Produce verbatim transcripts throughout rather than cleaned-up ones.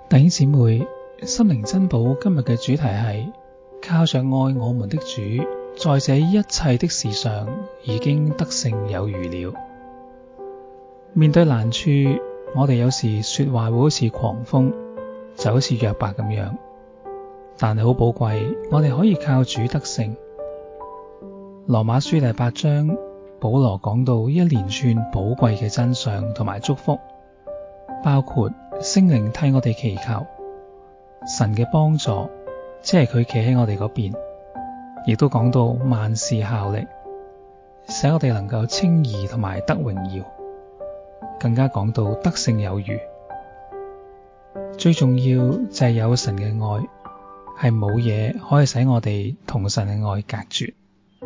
弟兄姊妹，心靈珍寶今日嘅主題係靠着愛我們的主，在這一切的事上已經得勝有餘了。面對難處，我哋有時說話會好似狂風，就好似約伯咁樣，但係好寶貴，我哋可以靠主得勝。羅馬書第八章，保羅講到一連串寶貴嘅真相同埋祝福，包括聖靈替我哋祈求，神嘅幫助，即係佢企喺我哋嗰邊，亦都講到萬事效力，使我哋能夠稱義同埋得榮耀，更加講到得勝有餘。最重要就係有神嘅愛，係冇嘢可以使我哋同神嘅愛隔絕。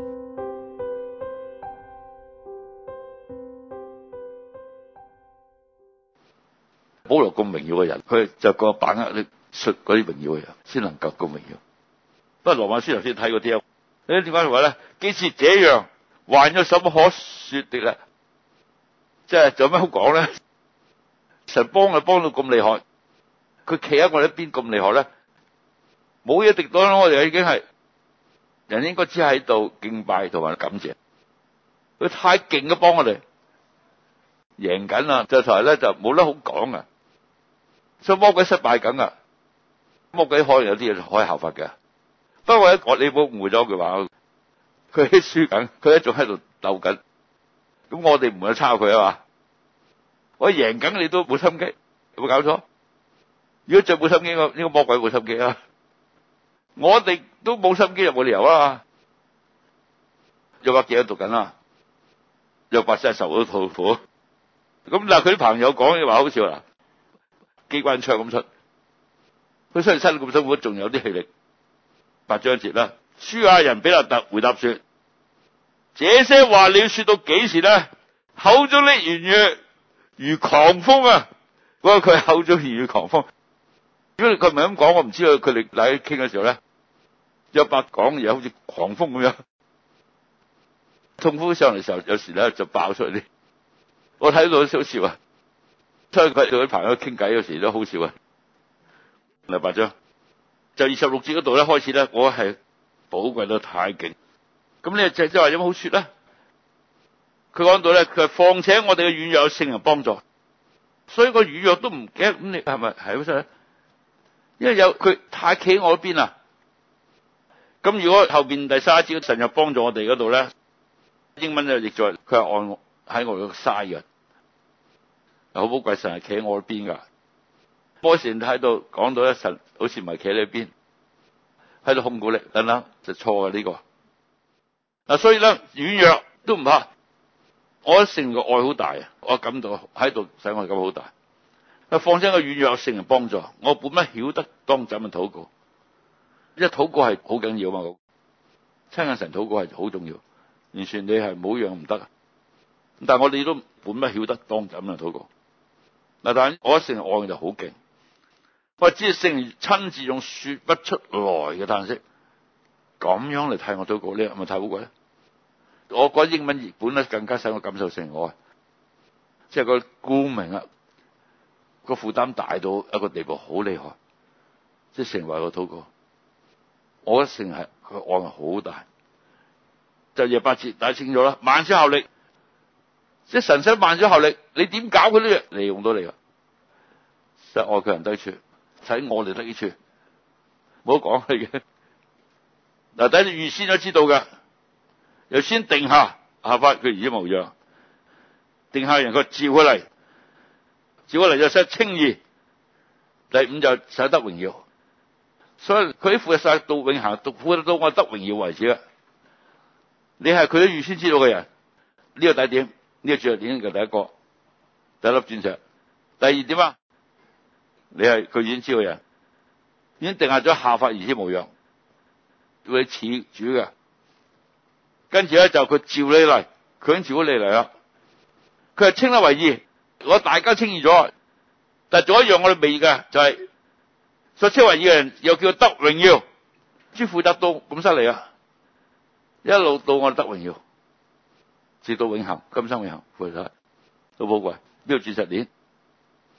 保羅咁榮耀嘅人，佢就個把握力出嗰啲榮耀嘅人，先能夠咁榮耀。不過羅馬書頭先睇嗰啲啊，誒點解話咧？既是這樣，還有什麼可說的咧？即係仲有咩好講咧？神幫佢幫到咁厲害，佢企喺我哋一邊咁厲害咧，冇嘢敵擋啦！我哋已經係人應該只喺度敬拜同埋感謝。佢太勁嘅幫我哋贏緊啦，就台咧就冇得好講啊！所以魔鬼失敗緊啊！魔鬼可能有啲嘢可以效法嘅，不過我你冇誤會咗句話，佢輸緊，佢一仲喺度鬥緊，咁我哋唔會抄佢啊嘛！我贏緊你都冇心機，有冇搞錯？如果再冇心機，呢個魔鬼冇心機啊！我哋都冇心機，又冇理由啊！約伯記喺度讀緊啦，約伯真係受到痛苦。咁嗱，佢啲朋友講嘅話好笑啦，機關槍咁出，佢雖然身咁辛苦，仲有啲氣力。八章節啦，書亞人比勒達回答說：這些話你要說到幾時呢？口中的言語如狂風啊！嗰個佢口中言語狂風。如果佢唔係咁講，我唔知道佢哋嚟傾嘅時候咧，約伯講嘢好似狂風咁樣，痛苦上嚟嘅時候，有時咧就爆出嚟啲。我睇到都好笑啊！所以佢同啲朋友傾偈，有時都好笑啊。第八章就二十六節嗰度咧開始咧，我係寶貴到太勁。咁呢就即係話有乜好說咧？佢講到咧，佢況且我哋嘅軟弱有聖靈幫助，所以個軟弱都唔記得。咁你係咪係好犀利？因為有佢太企喺我嗰邊啦。咁如果後邊第三節神又幫助我哋嗰度咧，英文就譯作佢係按我喺我度嘥嘅。好寶貴，神係企喺我邊噶。波士喺度講到咧，神好似唔係企喺你邊，喺度控告你等等，就錯嘅呢個。嗱，所以咧軟弱都唔怕，我覺得聖靈嘅愛好大啊！我感到喺度使我感好大。啊，況且個軟弱有聖靈幫助，我本不曉得當怎樣禱告，因為禱告係好緊要嘛。親近神禱告係好重要，完全你係冇樣唔得。但係我哋都本不曉得當怎樣禱告。嗱，但係我聖靈愛就好勁，我知聖靈親自用說不出來嘅嘆息，咁樣嚟替我禱告，呢係咪太寶貴咧？我覺得英文譯本咧更加使我感受聖靈愛，即係個顧名啊，個負擔大到一個地步，好厲害，即係成為我禱告。我覺得聖靈係佢愛係好大，就廿八節大家清楚啦，萬事效力。即係神使萬事效力，你點搞佢呢？利用到你噶，使愛佢人得益處，使我哋得益處，冇得講佢嘅。嗱，等你預先都知道噶，又先定下效法佢兒子模樣，定下人佢召佢嚟，召佢嚟就使稱義，第五就使得榮耀。所以佢啲負責晒到永恆，到負責到我得榮耀為止啊！你係佢都預先知道嘅人，呢、這個第一點。呢個最後點嘅第一個，第一粒鑽石。第二點啊，你係佢已經知道嘅人，已經定下咗效法兒子模樣，會似主嘅。跟住咧就佢召你嚟，佢已經召咗你嚟啦。佢係稱得為義，我大家稱義咗，但係仲有一樣我哋未嘅，就係、是、所稱為義嘅人又叫得榮耀，主負責到咁犀利啊！一路到我哋得榮耀。直到永恆，今生永恆，負責都寶貴。呢個鑽石鏈，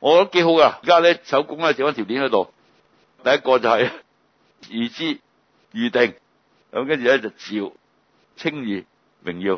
我覺得幾好噶。而家咧手工咧整翻條鏈喺度，第一個就係預知預定，咁跟住咧就召稱義榮耀，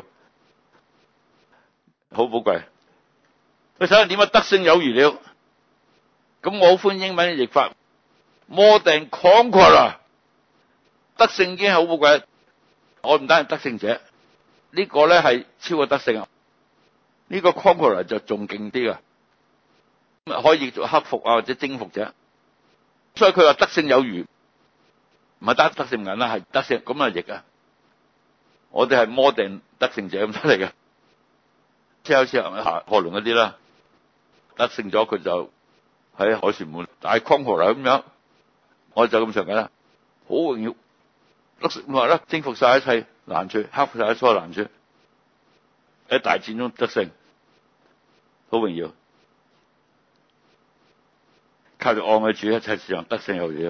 好寶貴。佢首先點啊？得勝有餘了。咁我好歡迎英文嘅譯法 ，more than conqueror。得勝已經係好寶貴。我唔單係得勝者，呢、這個咧係超過得勝啊！呢、這個 conqueror 就仲勁啲噶。可以做克服啊，或者征服者，所以佢話得勝有餘，唔係得得勝人啦，係得勝咁啊譯啊！我哋係more than得勝者咁出嚟嘅，即係好似下何龍嗰啲啦，得勝咗佢就喺凱旋門大 conqueror 咁樣，我就咁上緊啦，好榮耀，得勝話啦，征服晒一切難處，克服晒一切難處，喺大戰中得勝，好榮耀。靠住愛嘅主，一切事上得勝有餘。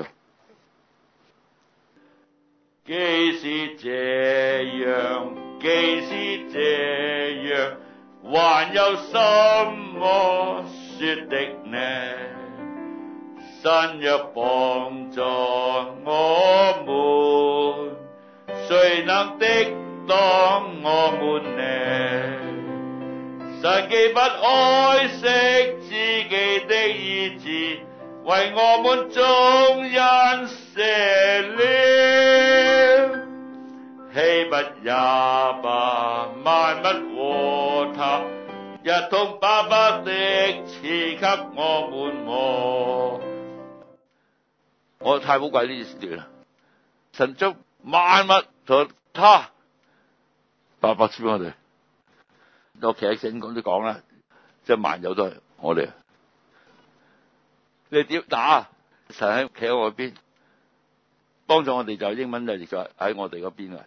既是這樣，既是這樣，還有什麼說的呢？神若幫助我們，誰能敵擋我們呢？神既不愛惜自己的兒子，為我們眾人捨了，豈不也把萬物和他一同白白的賜給我們麼？我太寶貴呢段啦！神將萬物同他白白賜俾我哋。我企喺聖經都講啦，即係萬有都係我哋。你點打？神喺企喺我邊，幫助我哋就英文就譯咗喺我哋嗰邊啊！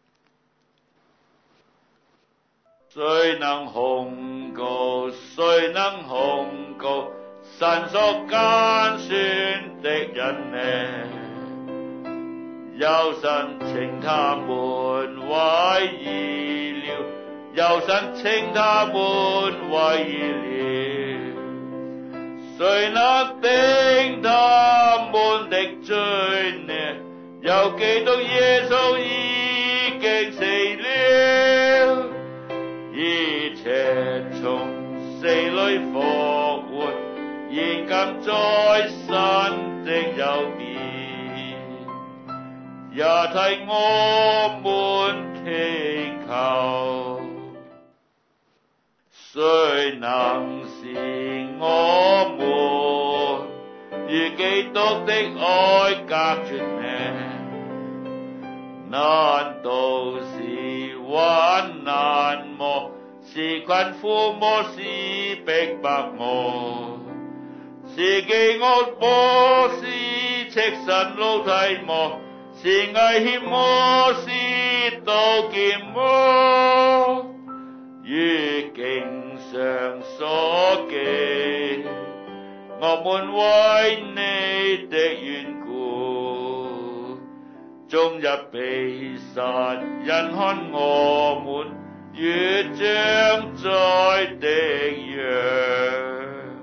誰能控告？誰能控告？神所揀選的人呢？有神稱他們為義了，有神稱他們為義了。誰能定他們的罪呢？有基督耶穌已經死了，而且從死裡復活，現今在神的右邊，也替我們祈求。誰能使我們與基督的愛隔絕呢？難道是患難麼？是困苦麼？是逼迫麼？是饑餓麼？是赤身露體麼？是危險麼？是刀劍麼？如經上所記，我們為你的緣故，終日被殺，因看我們如將宰的羊。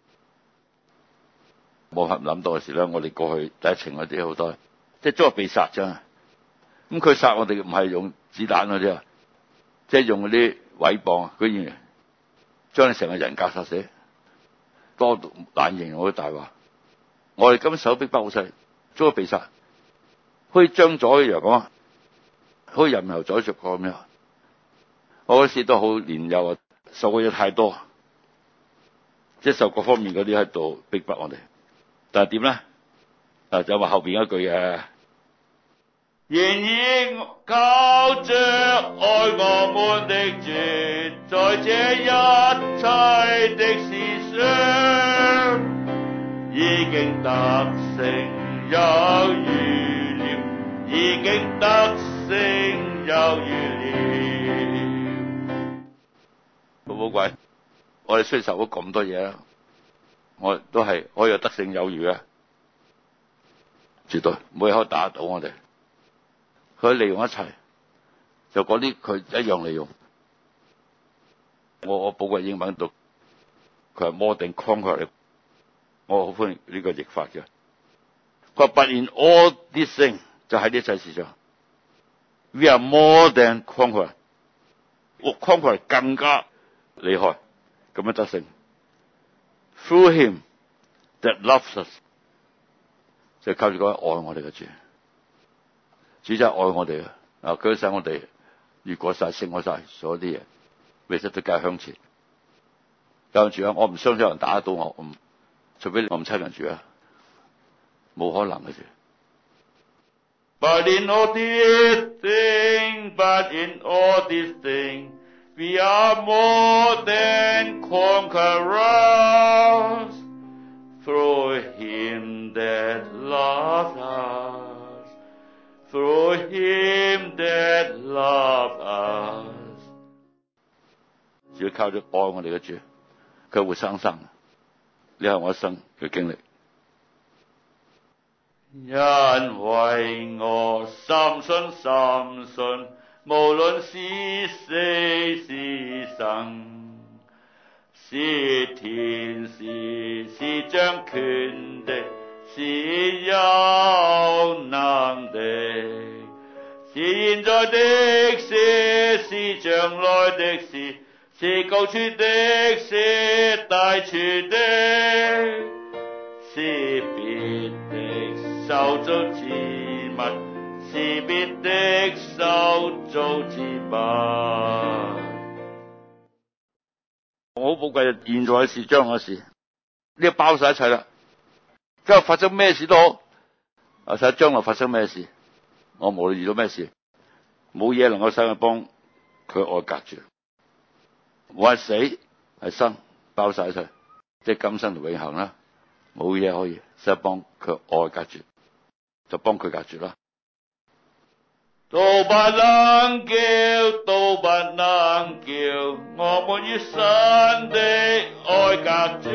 冇合諗到嘅時咧，我哋過去第一程嗰啲好多，即係都係被殺啫。咁佢殺我哋唔係用子彈嗰啲啊，即係用嗰啲毀謗啊，居然將你成個人格殺死，多到難形容嗰啲大話。我哋今手逼迫好細，都係被殺，好似將宰一樣咁啊，好似人頭宰着過咁樣。我嗰時都好年幼啊，受過嘢太多，即係受各方面嗰啲喺度逼迫我哋。但係點咧？啊，就話後邊一句嘅，然而靠着愛我們的主，在這一切的事上，已經得勝有餘了，已經得勝有餘了。好寶貴，我哋雖然受咗咁多嘢啦，我哋都係可以有得勝有餘嘅，絕對冇嘢可以打得到我哋。佢利用一切，就嗰啲佢一樣利用。我我寶貴英文讀，佢係 more than conqueror。 我好歡迎呢個譯法嘅。佢話 But in all these things 就喺呢一切事上 ，we are more than conqueror， 我 conqueror 更加厲害，咁樣得勝。Through him that loves us， 就靠住嗰個愛我哋嘅主，主就係愛我哋啊！啊，佢使我哋越過晒、勝過晒所有啲嘢，未實都繼續向前。有人住啊，我唔相信有人打得到我，唔除非我唔親人住啊，冇可能嘅事。But in all these things, but in all these things, we are more than conquerors through him that loved us, through him that loved us。只要靠住愛我哋嘅主，佢會生生。呢係我一生嘅經歷。因為我深信深信，無論是死是生，是天使是掌權的，是有能的，是現在的事，是將來的事，是高處的，是低處的，是別的受造之物，是別的受造之物。我好寶貴，現在嘅事、將來嘅事，呢個包晒一切啦。今日發生咩事都好，啊，睇下將來發生咩事，我無論遇到咩事，冇嘢能夠使我幫佢愛隔住。我係死係生，包晒一切，即係今生同永恆啦，冇嘢可以使幫佢愛隔住，就幫佢隔住啦。都不能叫，都不能叫我們與神的愛隔絕，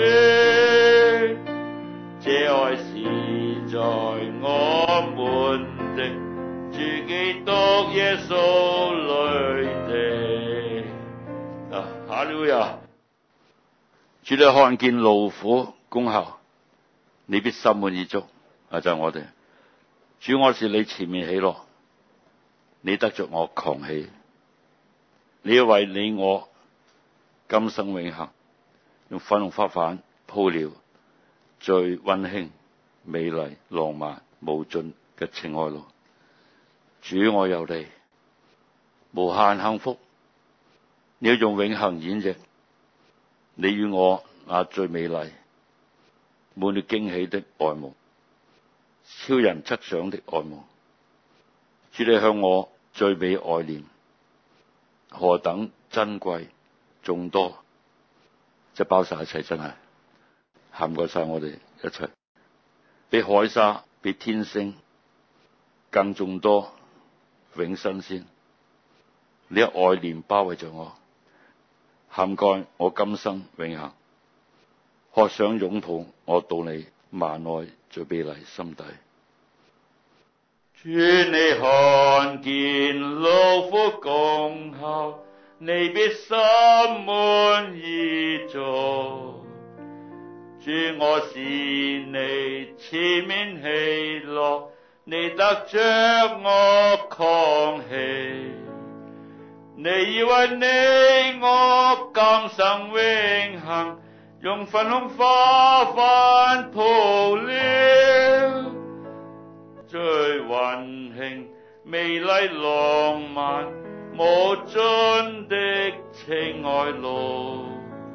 這愛是在我們的主基督耶穌裡的。啊，哈利路亞！主你看見勞苦功效，你必心滿意足。啊，就係、是、我哋主，我是你前面喜樂，你得着我狂喜，你要為你我今生永恆，用粉紅花瓣鋪了最溫馨、美麗、浪漫、無盡嘅情愛路。主，我有你，無限幸福。你要用永恆演繹你與我那最美麗、滿了驚喜的愛夢，超人測想的愛夢。主，你向我最美愛念，何等珍貴眾多，即係包晒一切，真係涵蓋晒我哋一切，比海沙、比天星更眾多，永新鮮。你嘅愛念包圍着我，涵蓋我今生永恆，渴想擁抱我到你萬愛最美麗心底。主，你看見勞苦功效，你必心滿意足。主，我是你前面喜樂，你得着我狂喜。你以為你我今生永恆，用粉紅花瓣鋪了最溫馨、美麗、浪漫、無盡的情愛路。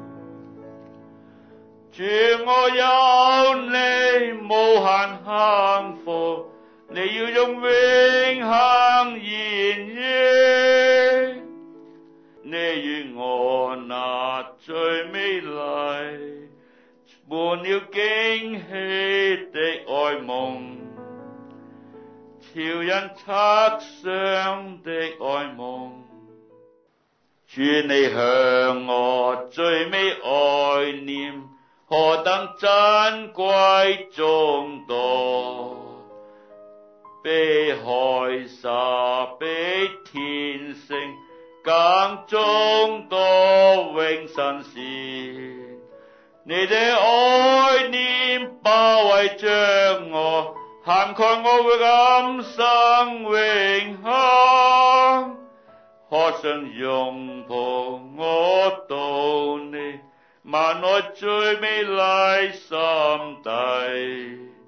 主，我有你無限幸福，你要用永恆演繹你與我那最美麗、滿了驚喜的愛夢，超人測想的愛夢。主，你向我最美愛念，何等珍貴眾多，比海沙、比天星更眾多，永新鮮。你的愛念那位將我涵蓋我嘅今生永恆，渴想擁抱我到你萬愛最美麗心底。